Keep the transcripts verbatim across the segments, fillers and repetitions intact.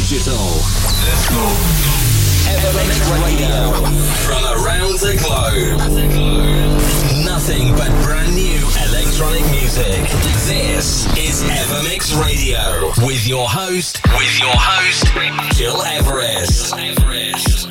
digital. Let's go. Evermix Radio. From around the globe. Nothing but brand new electronic music. This is Evermix Radio. With your host, with your host, Gil Everest. Everest.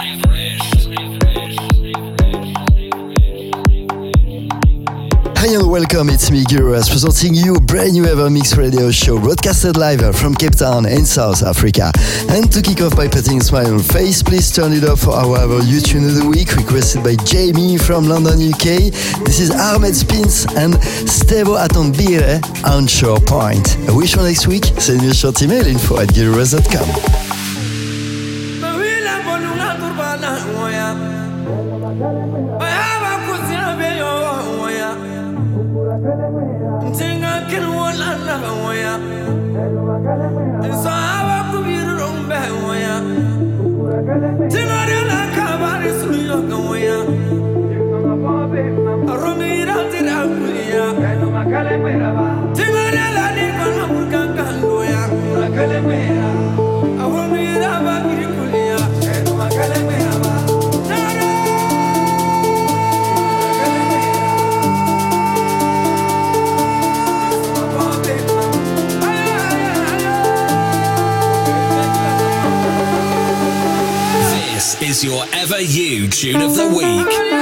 Hi and welcome, it's me, Gil Everest, presenting you a brand new Evermix Radio show broadcasted live from Cape Town in South Africa. And to kick off by putting a smile on face, please turn it up for our You Tune of the Week, requested by Jamie from London, U K. This is Ahmed Spins and Stevo Atondbire, Onshore Point. I wish for next week, send me a short email, info at gil everest dot com. This is your Ever You Tune of the Week.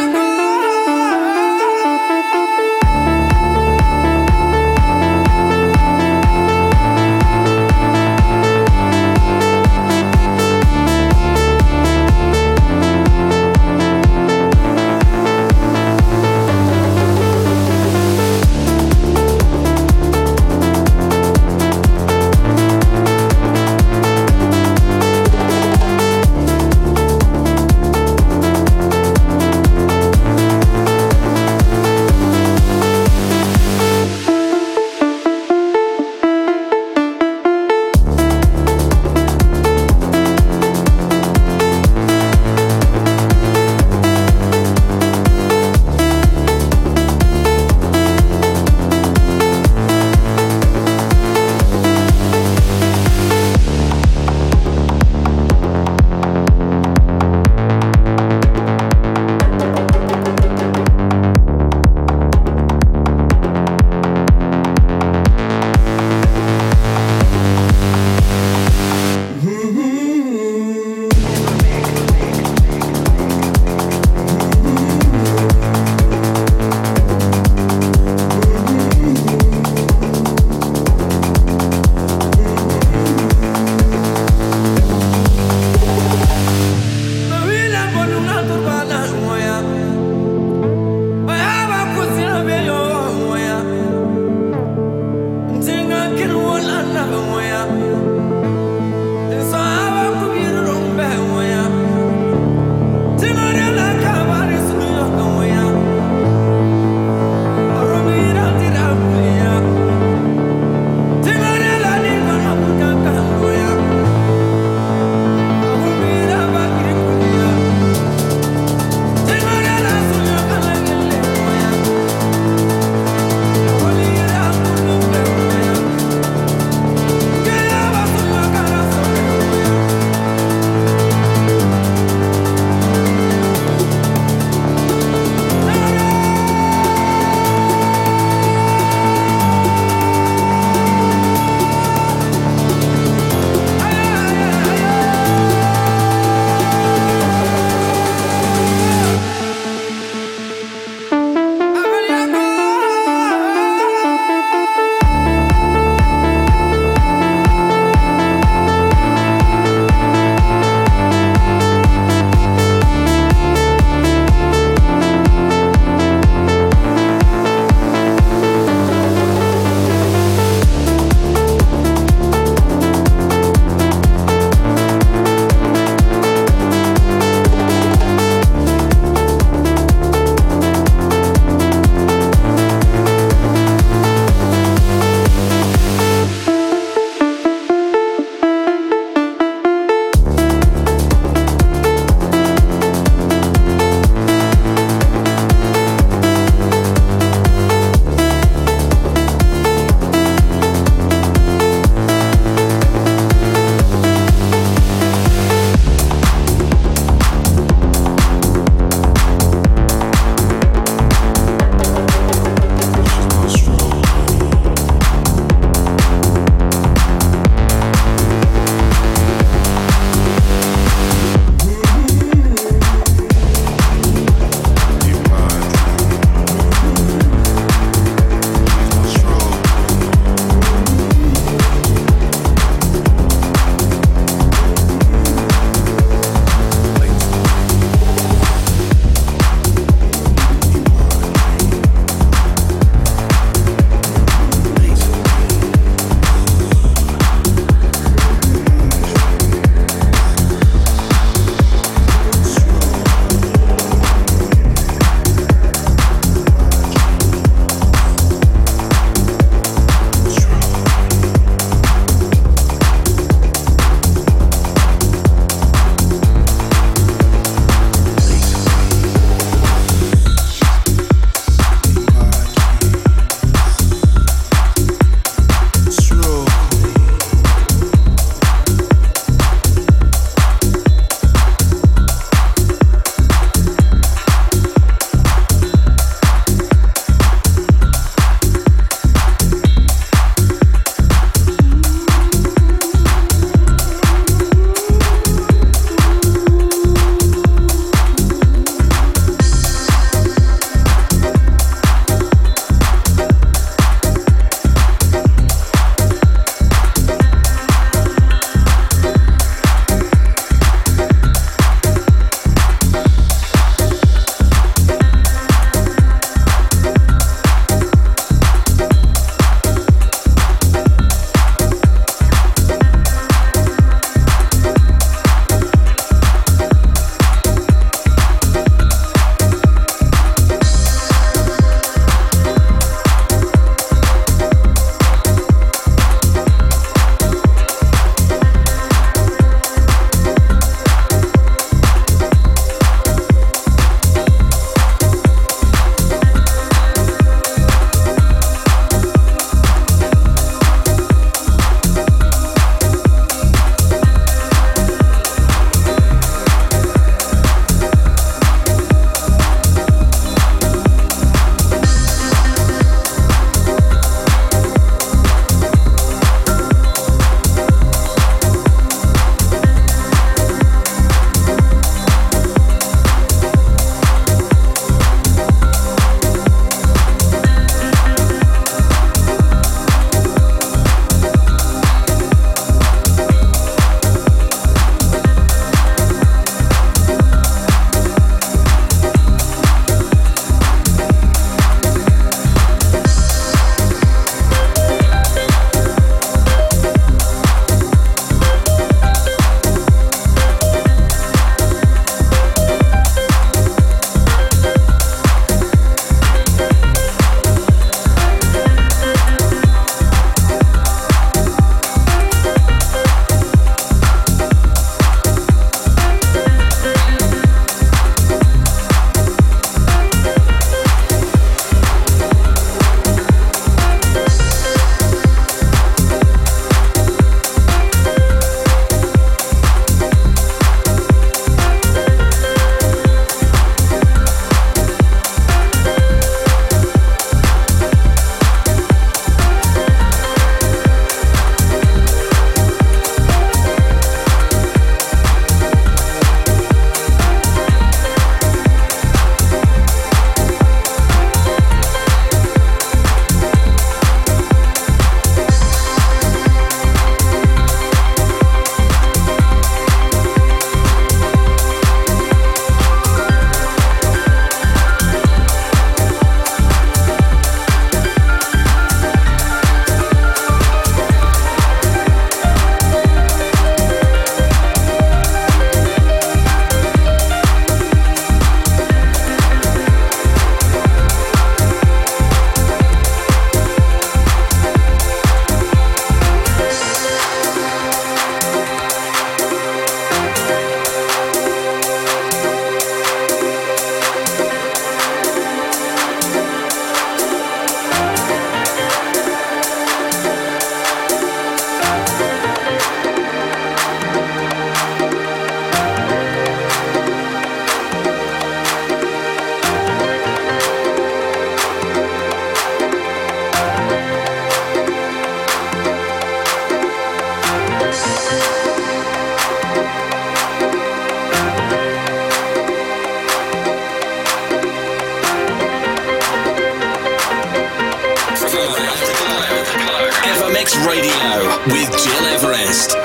Mix Radio with Gil Everest.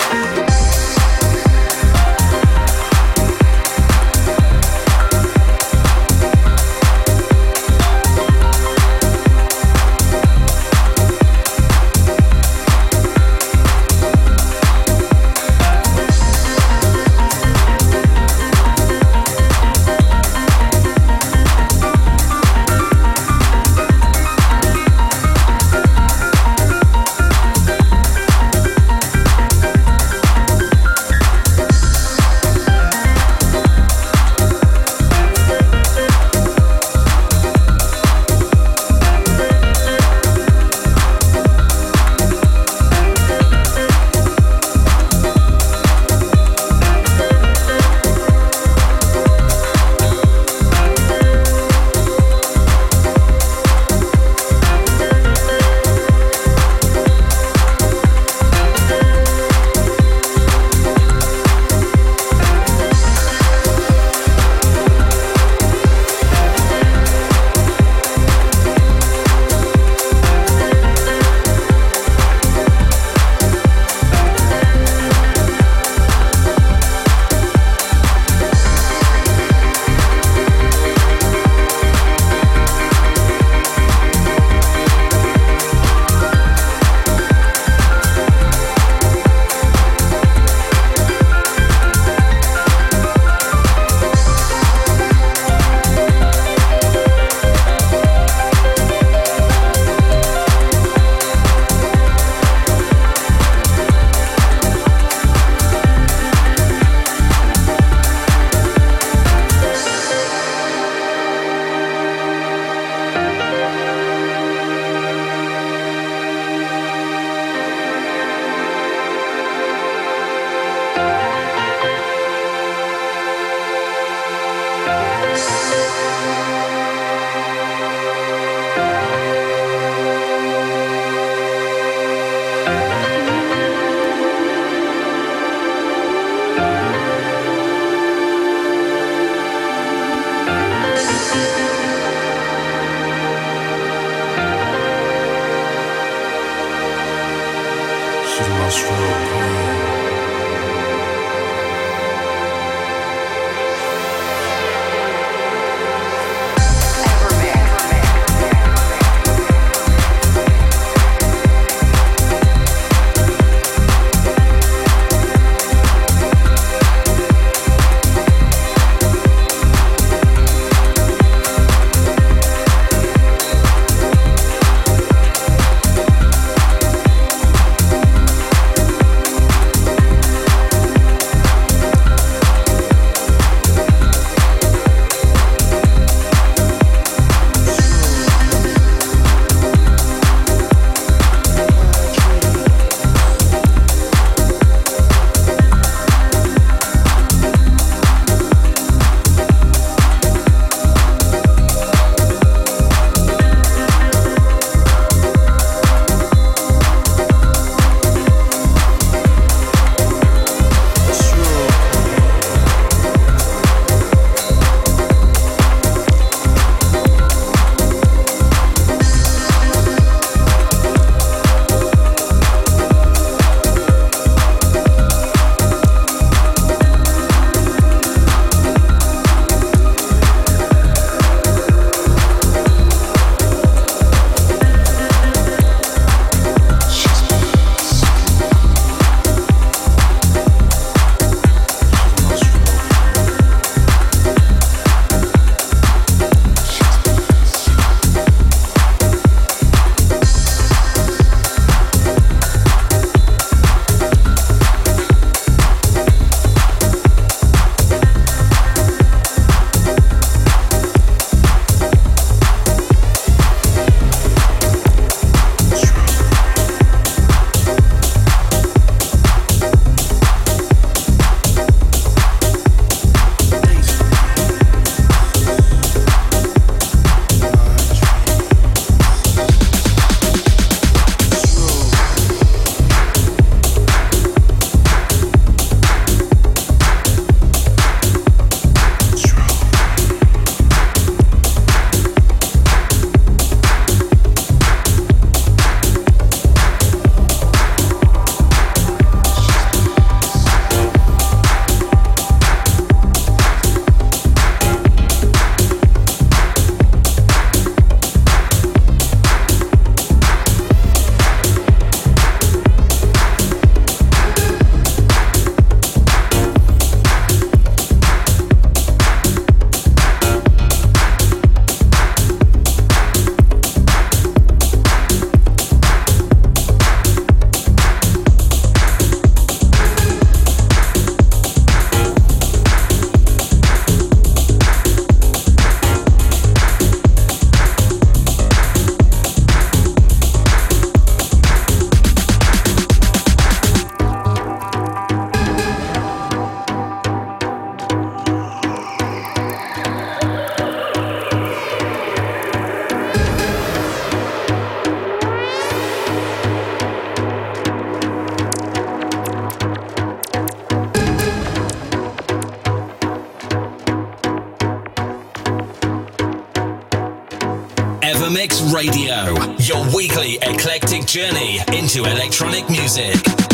Radio, your weekly eclectic journey into electronic music.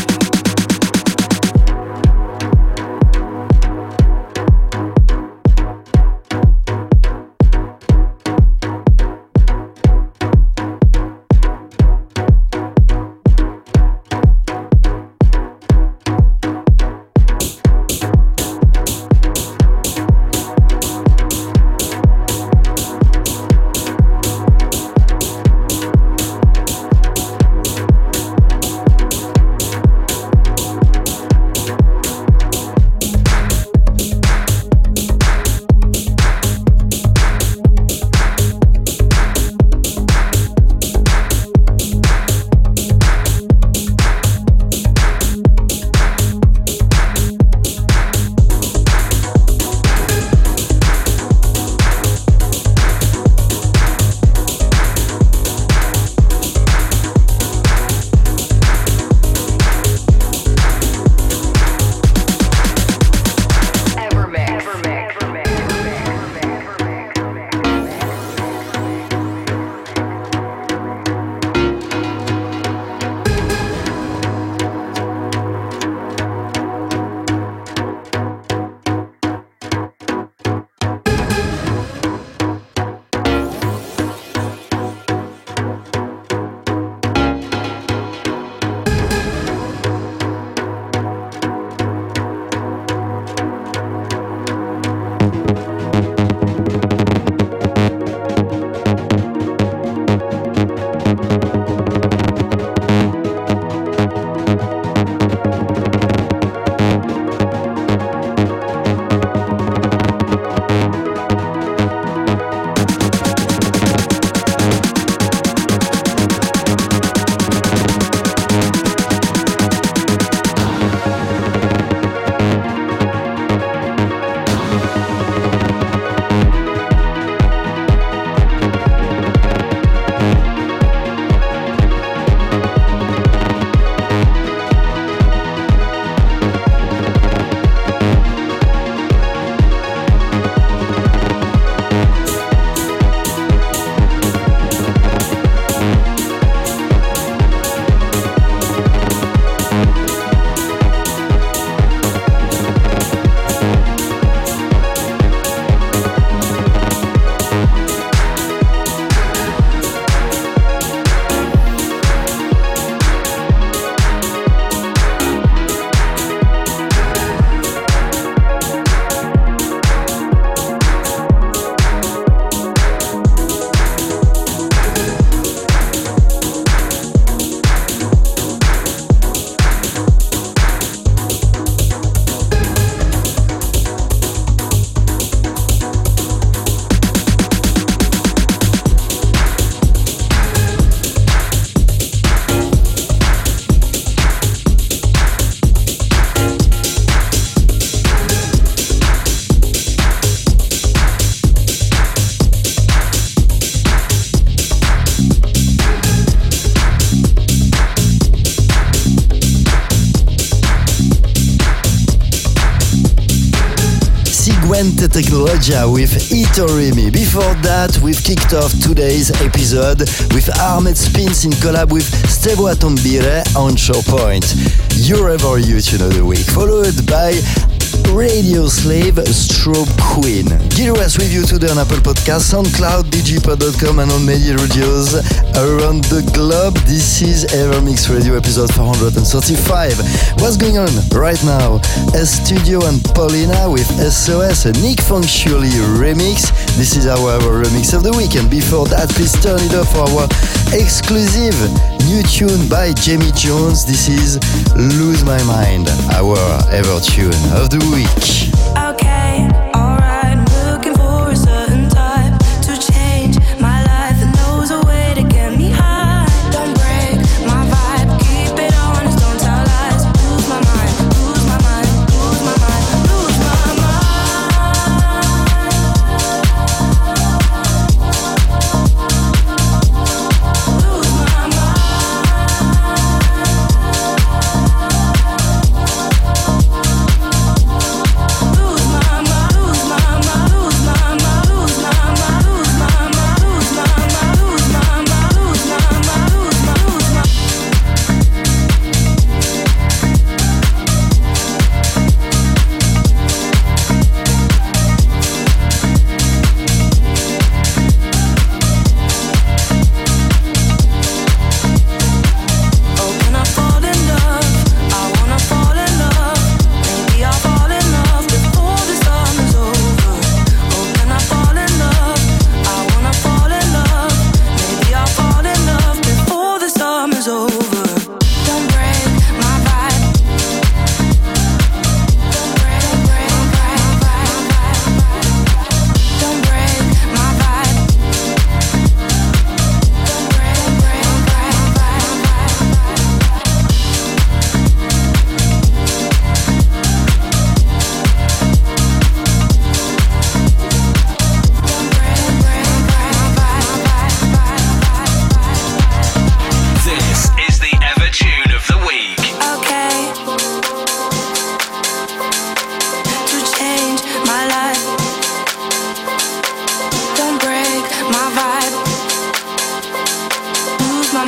Technologia with Itorimi. Before that, we've kicked off today's episode with Ahmed Spins in collab with Stevo Atombire on Shore Point. Your ever you tune of the week, followed by Radio Slave Strobe Queen. Get us with you today on Apple Podcasts, SoundCloud, D J pod dot com and on media radios around the globe. This is Evermix Radio episode four hundred thirty-five. What's going on right now? A Studio and Paulina with S O S, a Nick Functionally remix. This is our, our remix of the week. And before that, please turn it up for our exclusive new tune by Jamie Jones. This is Lose My Mind, our ever tune of the week. Okay, alright, I'm looking for a certain type to change my life and knows a way to get me high. Don't break my vibe, keep it honest, don't tell lies. Lose my mind, lose my mind, lose my mind, lose my Lose my mind.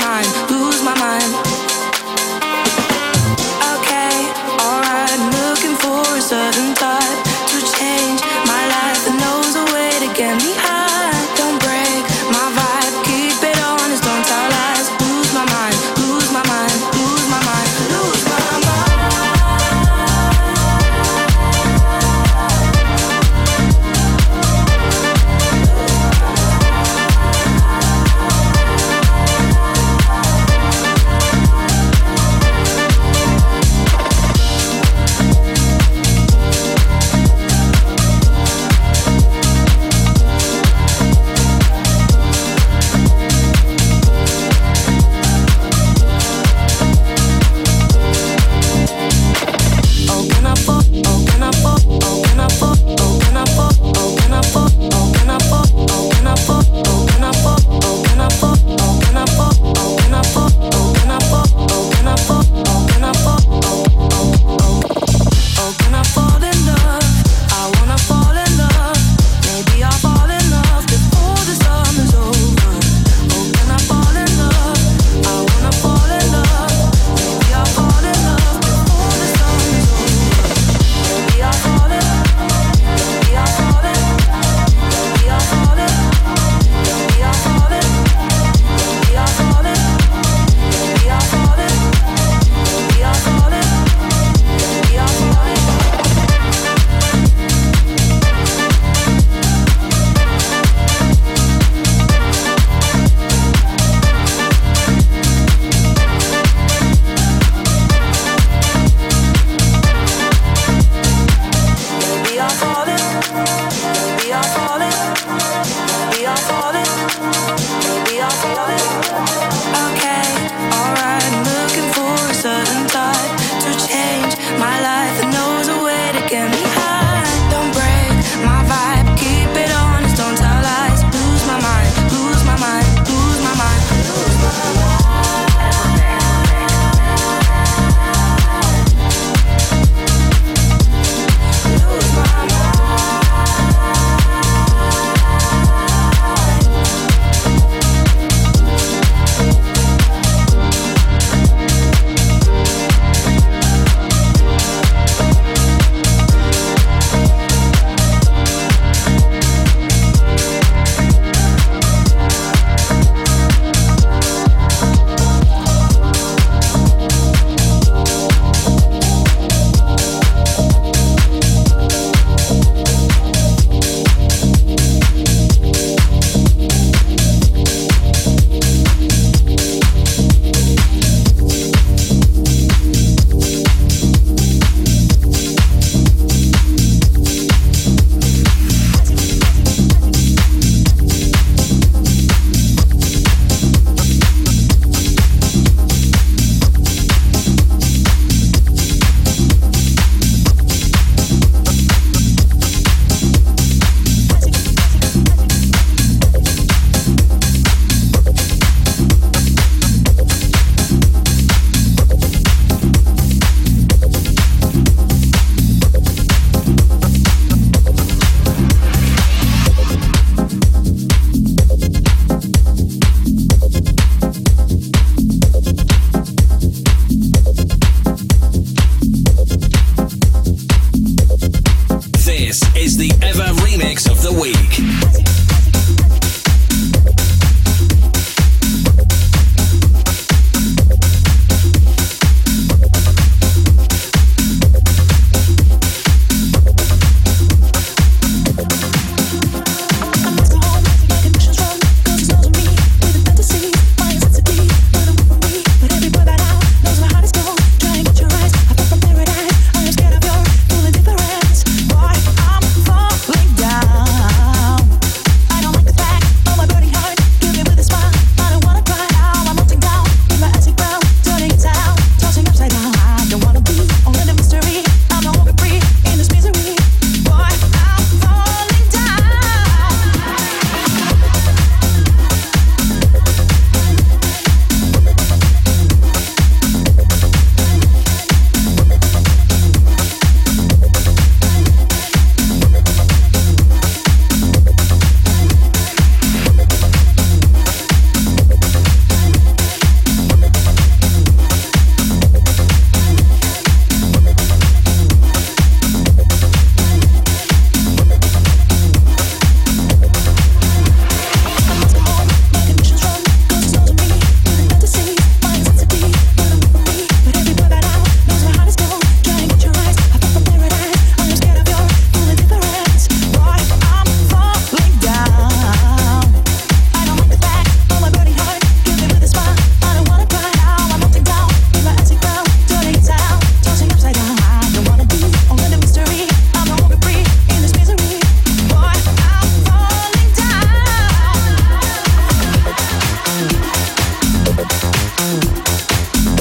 mind, lose my mind. Okay, alright, looking for a certain type to change my life and knows a way to get me high. Don't break my vibe, keep it honest, don't tell lies. Lose my mind, lose my mind, lose my mind, lose my mind.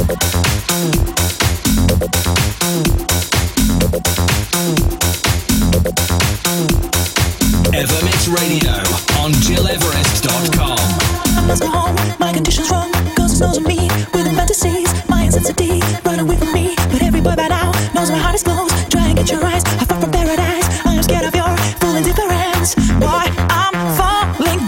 Evermix Radio on Gil Everest dot com. I must go home, my condition's wrong. Cause it knows me with the fantasies. My intensity, run away from me. But every boy by now knows my heart is closed. Try and get your eyes, I far from paradise. I am scared of your full indifference. Boy, I'm falling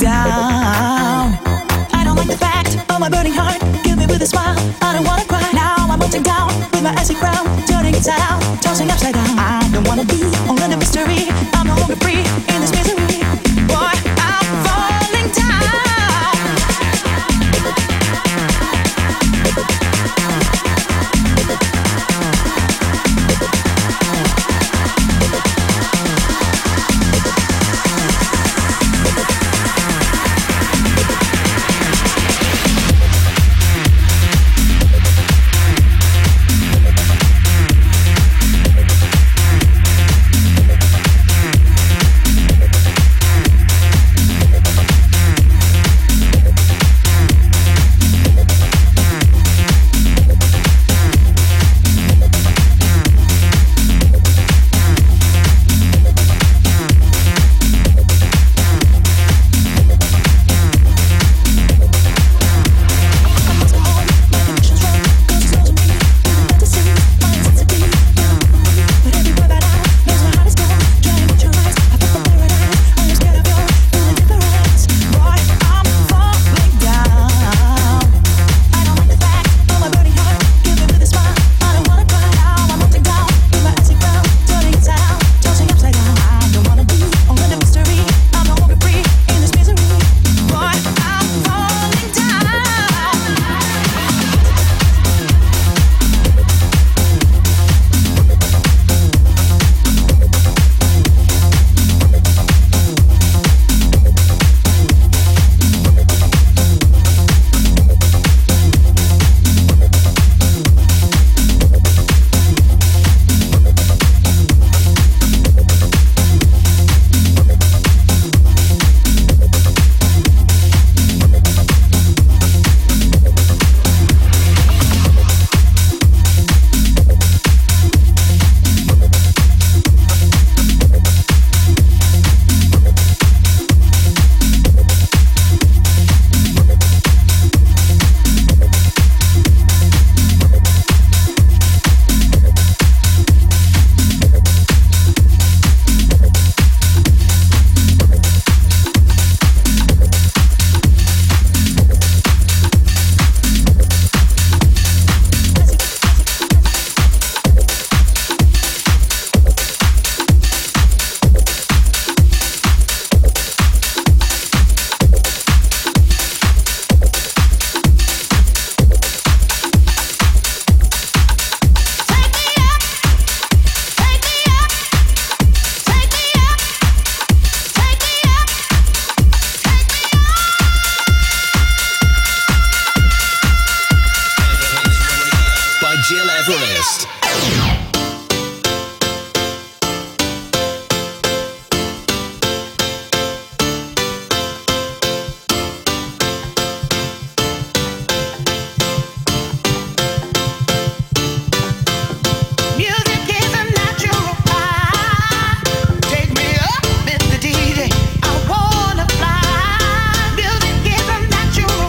down. I don't like the fact of my burning heart. Kill me with a smile, I don't wanna cry. Now I'm melting down with my acid crown. Turning inside out, tossing upside down. I don't wanna be all in the mystery. I'm no longer free in this misery. Boy, I'm falling down.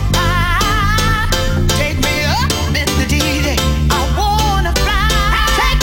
Take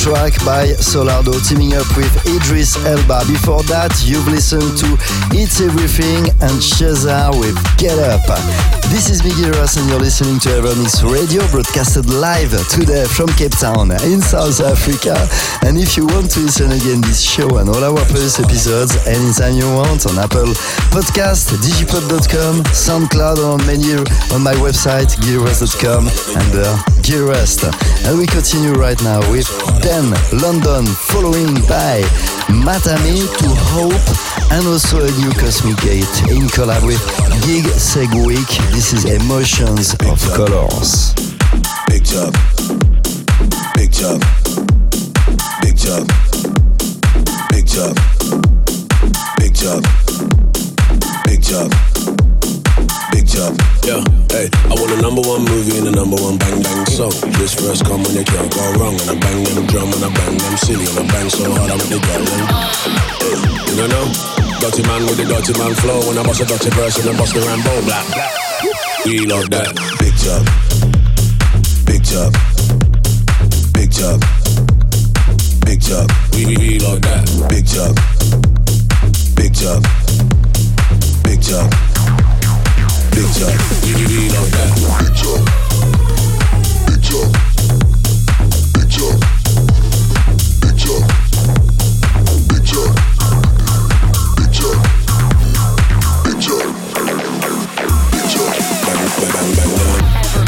track by Solardo teaming up with Idris Elba. Before that, you've listened to It's Everything and Sheza with Get Up. This is Miguel Ross and you're listening to Evermix Radio, broadcasted live today from Cape Town in South Africa. And if you want to listen again this show and all our previous episodes anytime you want on Apple Podcast, digipod dot com, SoundCloud, or on menu on my website gil rest dot com under Gil Rest. And we continue right now with ten London, following by Matame to Hope, and also a new Cosmic Gate in collab with Gig Segwick. This is Emotions of Colors. Big job, big job, big job, big job, big job, big job, big job. Yeah, hey, I want a number one movie and a number one bang bang song. This verse come when they can't go wrong, and I bang them drum and I bang them silly, and I bang so hard I make the girl them. Hey, you don't know? Dirty man with the dirty man flow, when I bust a dirty verse and I bust the Rambo, blah blah. We love that. Big job, big job, big job, big job. We we, we love that. Big job, big job, big job, big job. We we, we love that. Big job, big job, big job, big job, big job, big job, big job, big job. Bang bang bang bang.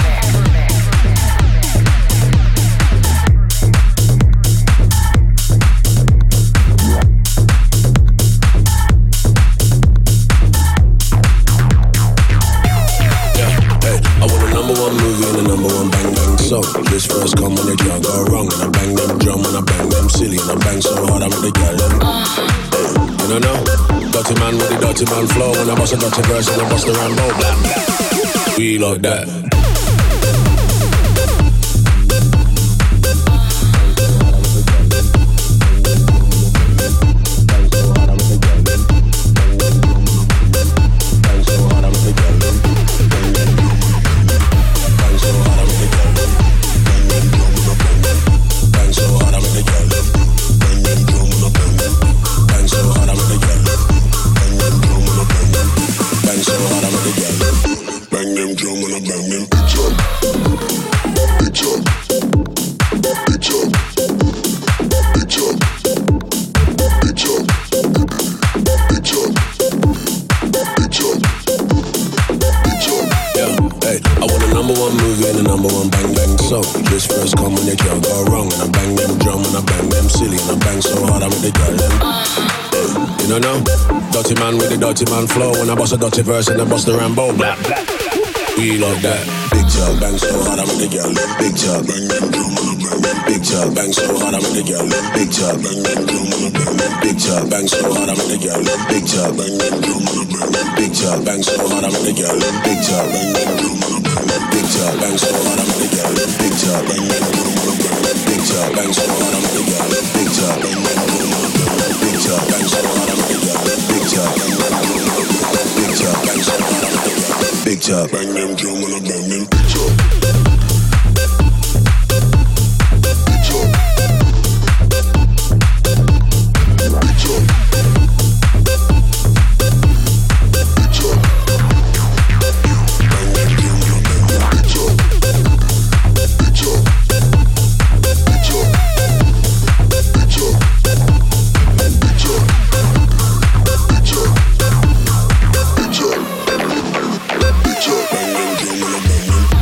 So, this verse come when they can't go wrong, and I bang them drum and I bang them silly, and I bang so hard I make the girl them. Hey, you don't know? Dirty man with the dirty man flow, when I bust a dirty verse and I bust the Rambo, blah blah. We like that. This verse come when they can't go wrong, and I bang them drum and I bang them silly, and I bang so hard I make the girl them. Hey, you don't know? Dirty man with the dirty man flow, when I bust a dirty verse and I bust the Rambo, blah blah. We love that. Big job, bang so hard I make the girl them. Big job, bang them drum and I bang them. Big job, bang so hard I make the girl them. Big job, bang them drum and I bang them. Big job, bang so hard I make the girl them. Big job, bang them drum and I bang them. Big job, bang so hard I make the girl them. Big job, bang them drum and I bang them. Big job, bang so hard I make the girl them. Big job, bang them drum and I bang them. Big job, bang so hard I make the girl them. Big job, bang them drum and I bang them. Big job, bang so hard I make the girl them. Big job, bang them drum and I bang them. Big job, bang so hard I make the girl them. Big job, bang them drum and I bang them. Big job. Bang them drum and I bang them.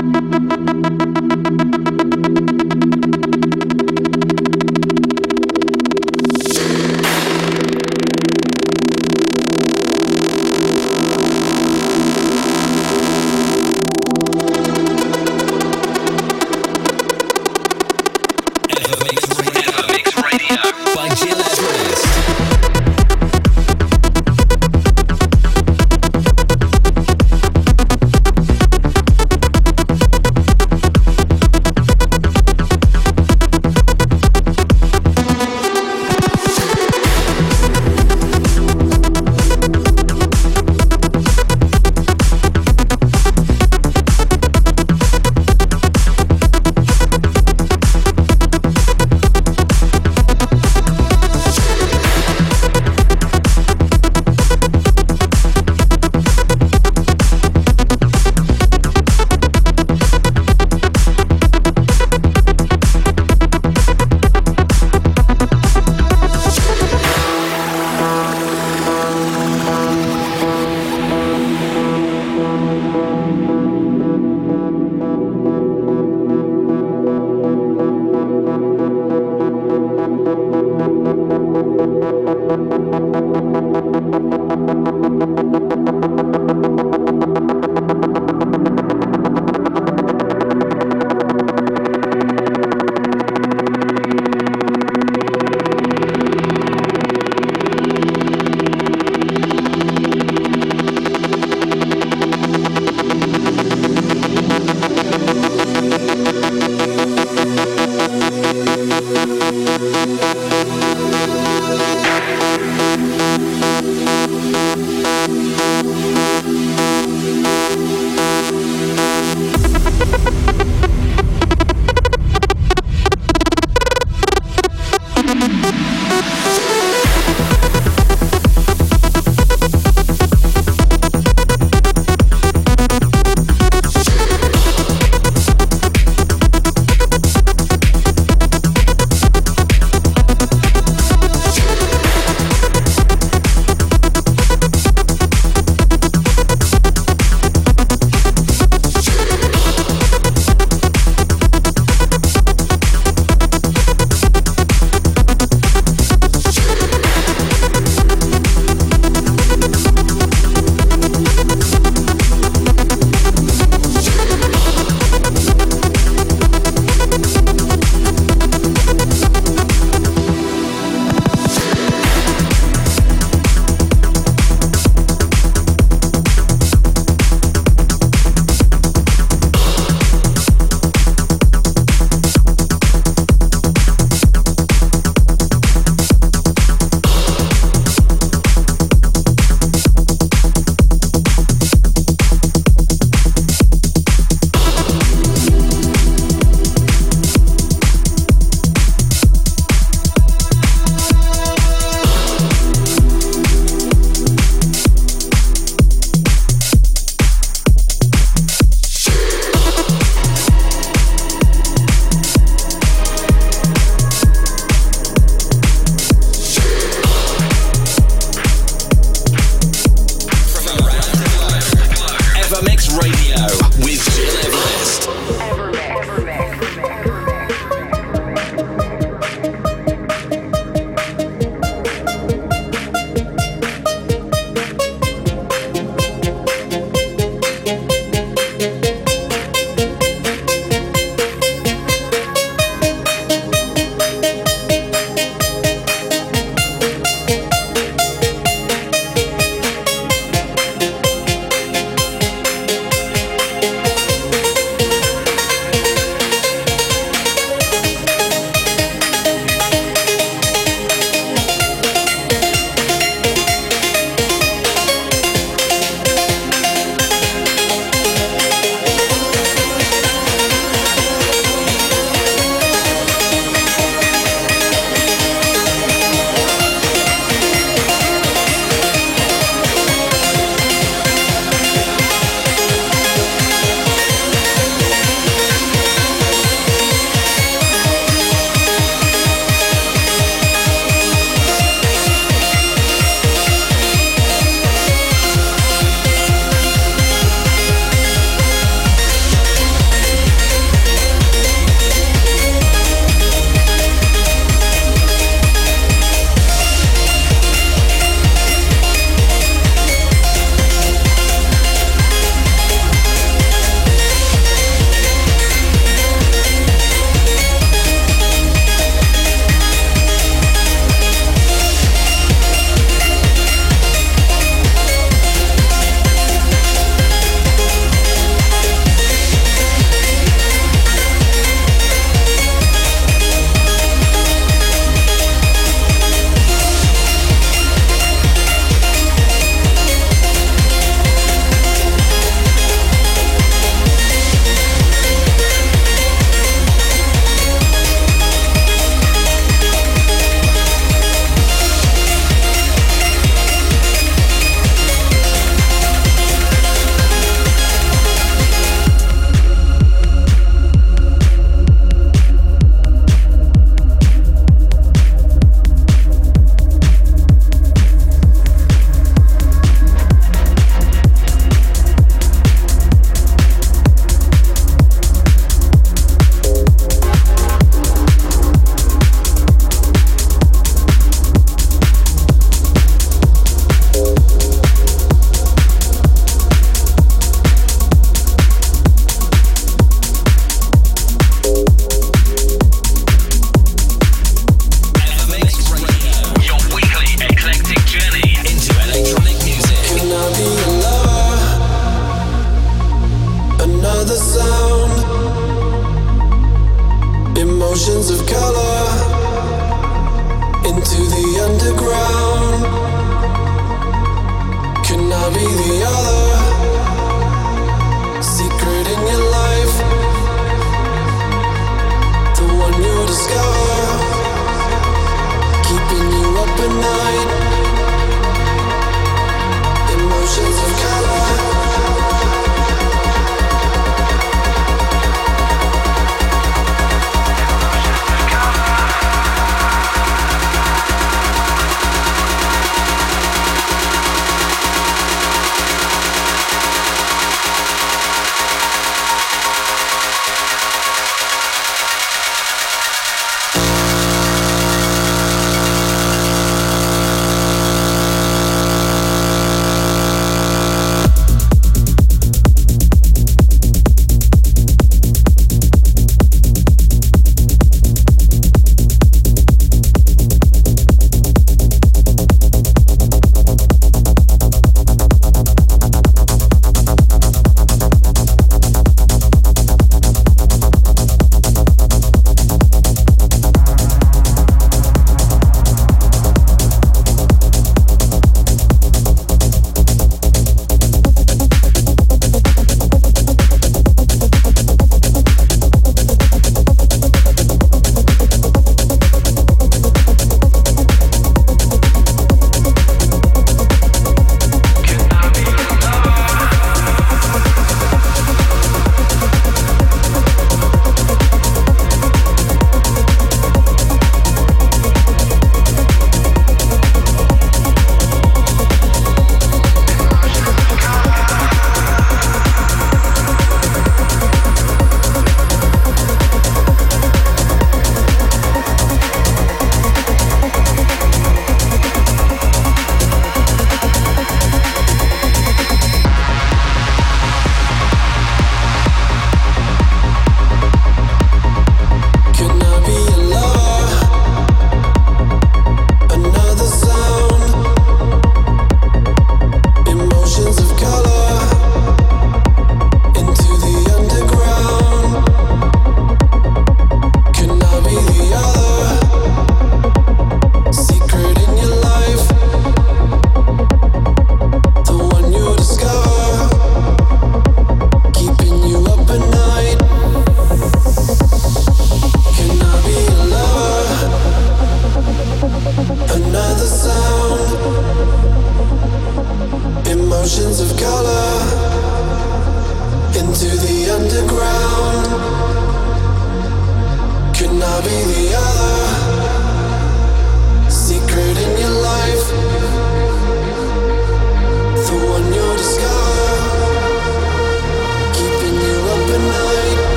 We'll be right back.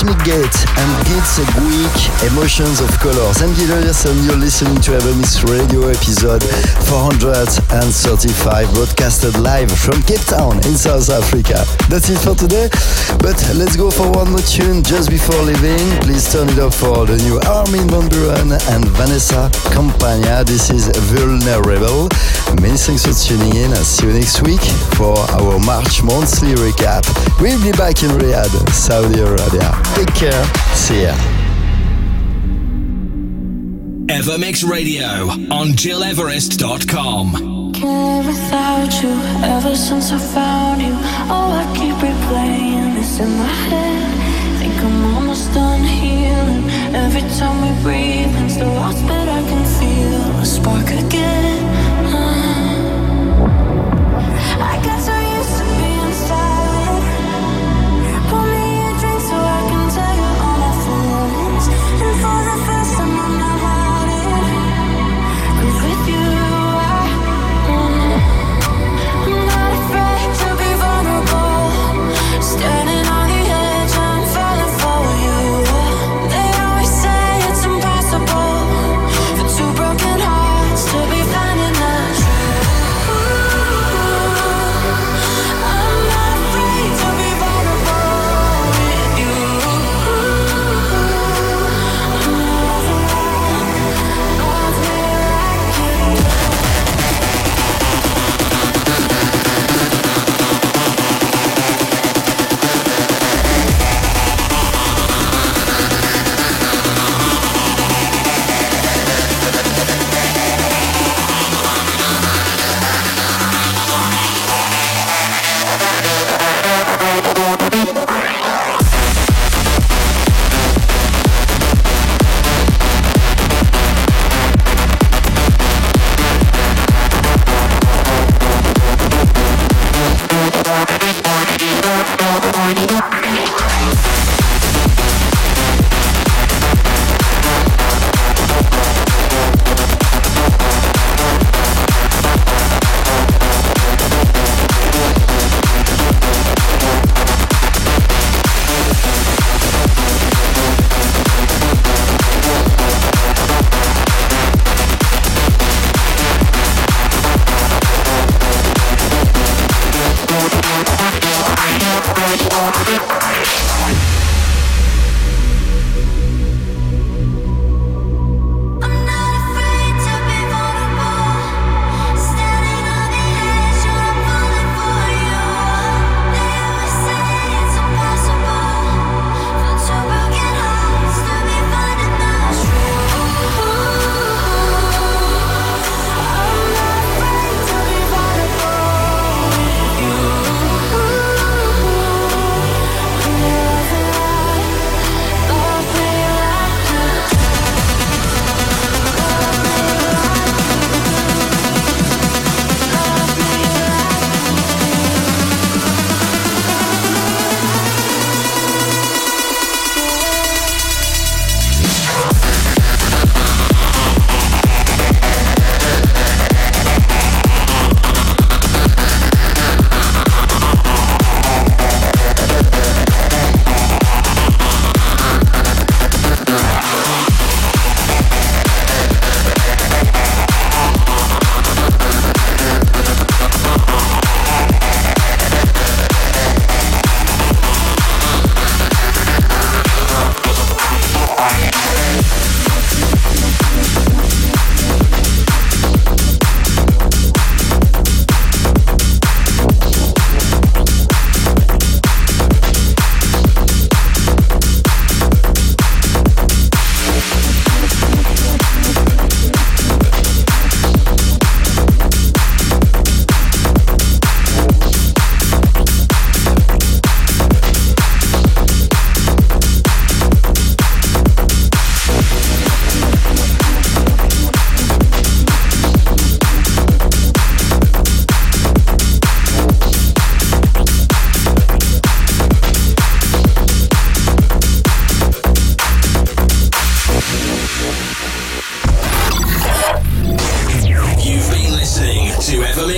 Cosmic Gate and Gits Week, Emotions of Colors. I'm Gilles and you're listening to Evermix Radio episode four hundred thirty-five, broadcasted live from Cape Town in South Africa. That's it for today, but let's go for one more tune just before leaving. Please turn it up for the new Armin van Buuren and Vanessa Campagna. This is Vulnerable. Many thanks for tuning in. I'll see you next week for our March monthly recap. We'll be back in Riyadh, Saudi Arabia. Take care. See ya. Evermix Radio on Gil Everest dot com. Can't live without you ever since I found you. Oh, I keep replaying this in my head. Think I'm almost done healing. Every time we breathe, it's the lost, but I can feel a spark again. I got so used to being silent. Pour me a drink so I can tell you all my feelings. And for the first time I'm not hiding. 'Cause with you I, I'm not afraid to be vulnerable. Standing on the edge, I'm falling for you. They always say it's impossible.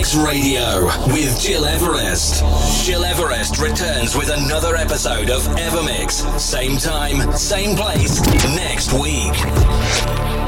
Evermix Radio with Gil Everest. Gil Everest returns with another episode of Evermix. Same time, same place, next week.